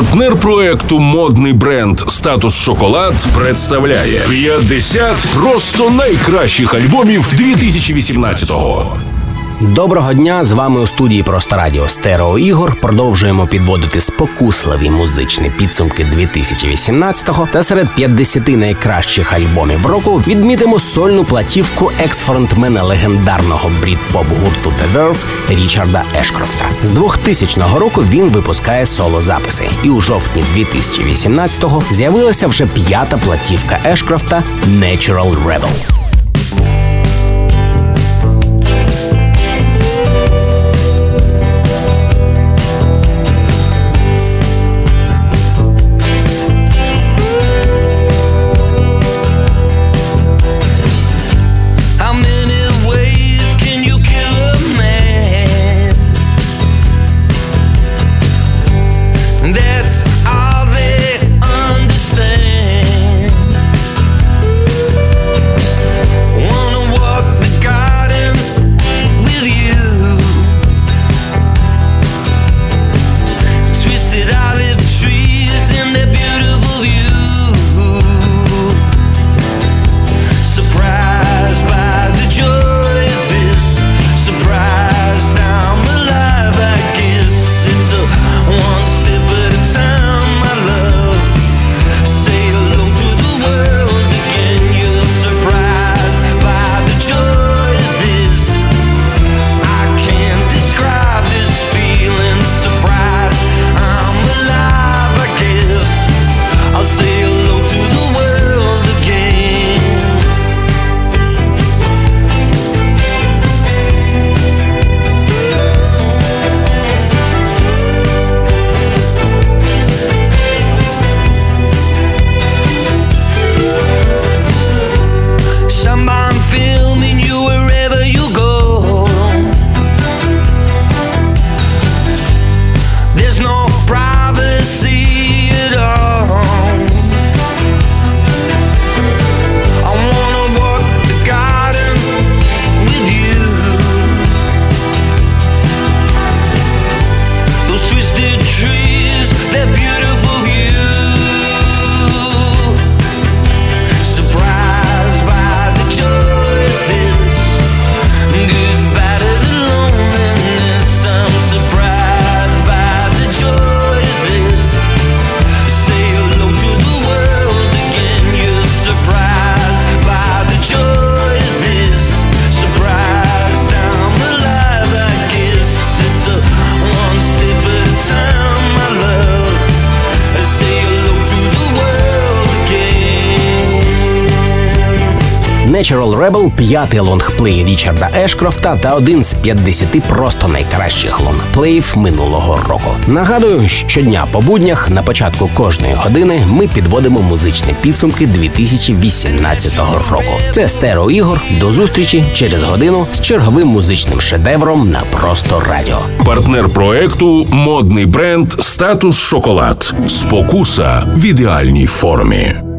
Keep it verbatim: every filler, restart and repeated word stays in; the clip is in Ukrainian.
Партнер проекту модний бренд «Статус Шоколад» представляє п'ятдесят просто найкращих альбомів дві тисячі вісімнадцятого. Доброго дня, з вами у студії Просто Радіо Стерео Ігор. Продовжуємо підводити спокусливі музичні підсумки дві тисячі вісімнадцятого, та серед п'ятдесяти найкращих альбомів року відмітимо сольну платівку екс-фронтмена легендарного брід-поп-гурту The Verve Річарда Ешкрофта. З двохтисячного року він випускає соло-записи, і у жовтні дві тисячі вісімнадцятого з'явилася вже п'ята платівка Ешкрофта Natural Rebel. Natural Rebel – п'ятий лонгплей Річарда Ешкрофта та один з п'ятдесяти просто найкращих лонгплеїв минулого року. Нагадую, щодня по буднях на початку кожної години ми підводимо музичні підсумки дві тисячі вісімнадцятого року. Це Стерео Ігор. До зустрічі через годину з черговим музичним шедевром на Просто Радіо. Партнер проекту модний бренд «Статус Шоколад». Спокуса в ідеальній формі.